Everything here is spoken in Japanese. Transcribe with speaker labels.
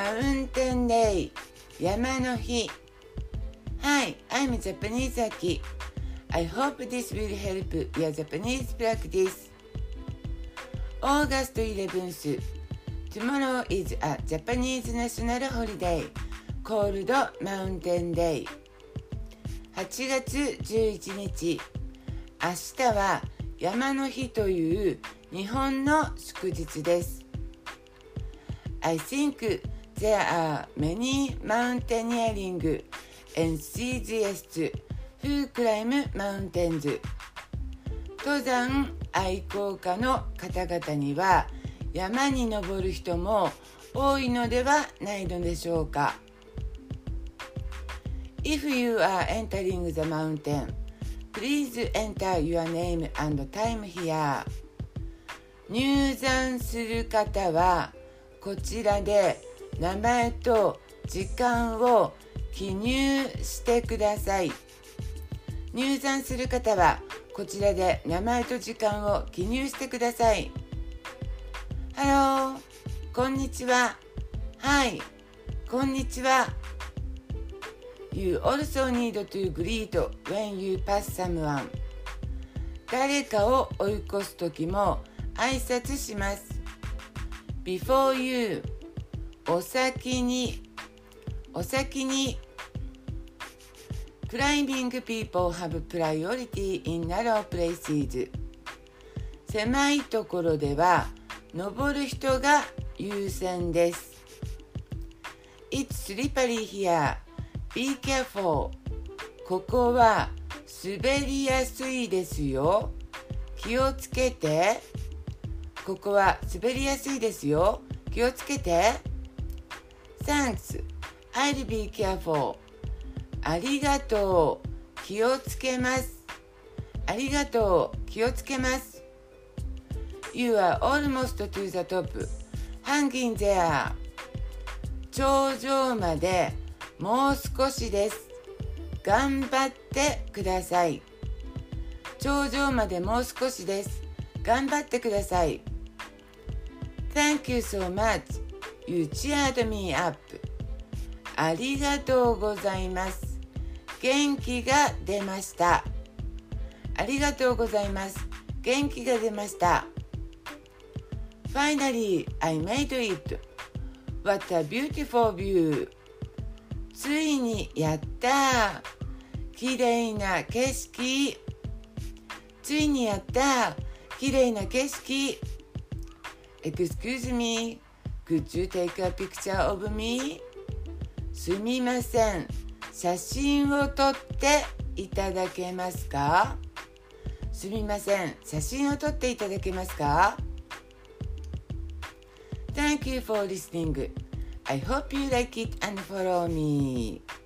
Speaker 1: Mountain Day 山の日 Hi, I'm Japanese Aki. I hope this will help your Japanese practice. August 11th. Tomorrow is a Japanese national holiday called Mountain Day. 8月11日。明日は山の日という日本の祝日です。I think there are many mountaineering enthusiasts who climb mountains. 登山愛好家の方々には山に登る人も多いのではないのでしょうか。If you are entering the mountain, please enter your name and time here. 入山する方はこちらで名前と時間を記入してください。入山する方はこちらで名前と時間を記入してください。Hello、こんにちは。Hi、こんにちは。You also need to greet when you pass someone. 誰かを追い越すときも挨拶します。Before you お先に Climbing people have priority in narrow places. 狭いところでは登る人が優先です。It's slippery here. Be careful. ここは滑りやすいですよ。気をつけて。ここは滑りやすいですよ。気をつけて。Thanks. I'll be careful. ありがとう。気をつけます。ありがとう。気をつけます。You are almost to the top. Hang in there. 頂上までもう少しです。頑張ってください。頂上までもう少しです。頑張ってください。Thank you so much. You cheered me up. ありがとうございます。元気が出ました。ありがとうございます。元気が出ました。Finally, I made it. What a beautiful view. ついにやった。きれいな景色。ついにやった。きれいな景色。Excuse me, could you take a picture of me? すみません。写真を撮っていただけますか？すみません。写真を撮っていただけますか？ Thank you for listening. I hope you like it and follow me.